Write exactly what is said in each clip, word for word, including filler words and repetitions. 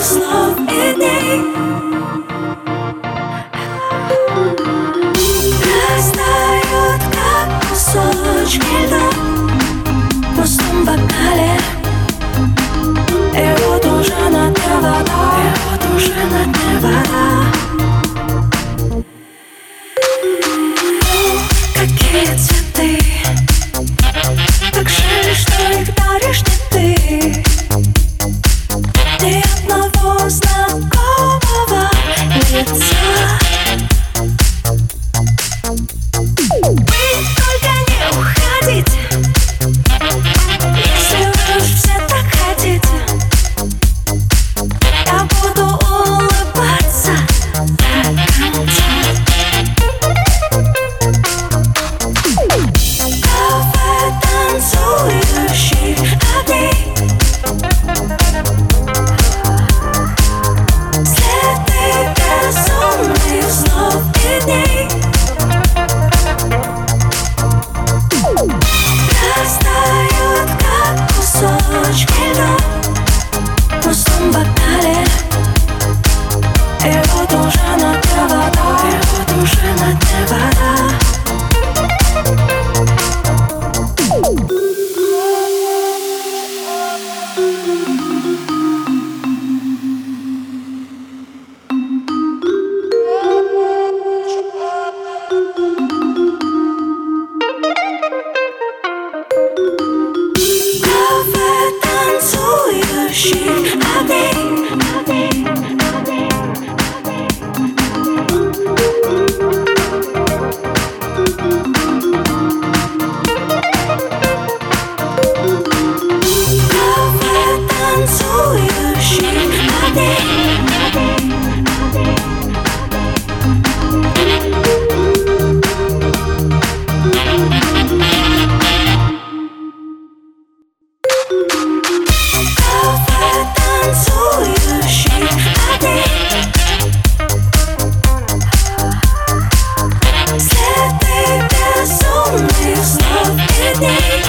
слов и дней растают, как кусочки льда в пустом бокале. И вот уже на дне вода, и вот уже на дне вода. Какие цветы, так жаль, что их даришь не ты. Ни одного знакомого лица. Вы только не уходите, если вы уж все так хотите. Я буду улыбаться до конца. Кафе танцующих огней, следы безумных снов и дней растают, как кусочки льда в пустом бокале. И вот уже на дне вода, и вот уже на дне вода. Кафе танцующих огней, кафе танцующих огней. Кафе танцующих огней, следы безумных снов и дней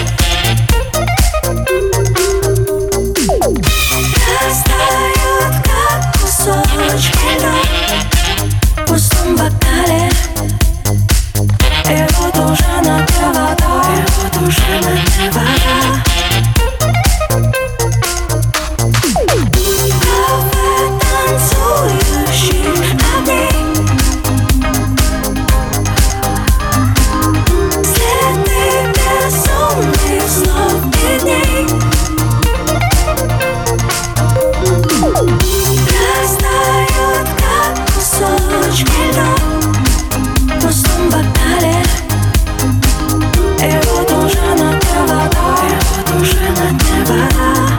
растают, как кусочки льда в пустом бокале. И вот уже на дне вода, и вот уже на дне вода. Кафе танцующих огней, следы безумных снов и дней растают, как кусочки льда в пустом бокале. И вот уже на дне вода, и вот уже на дне вода.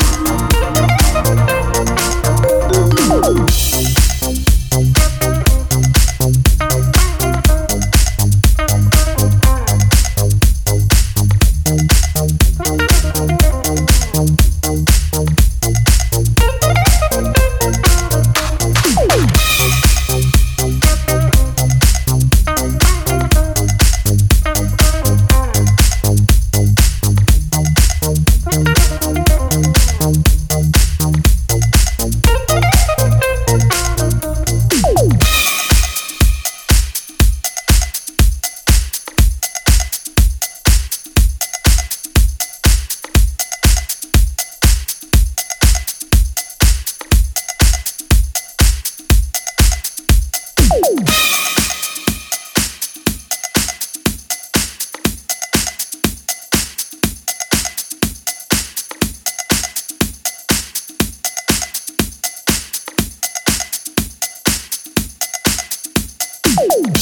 You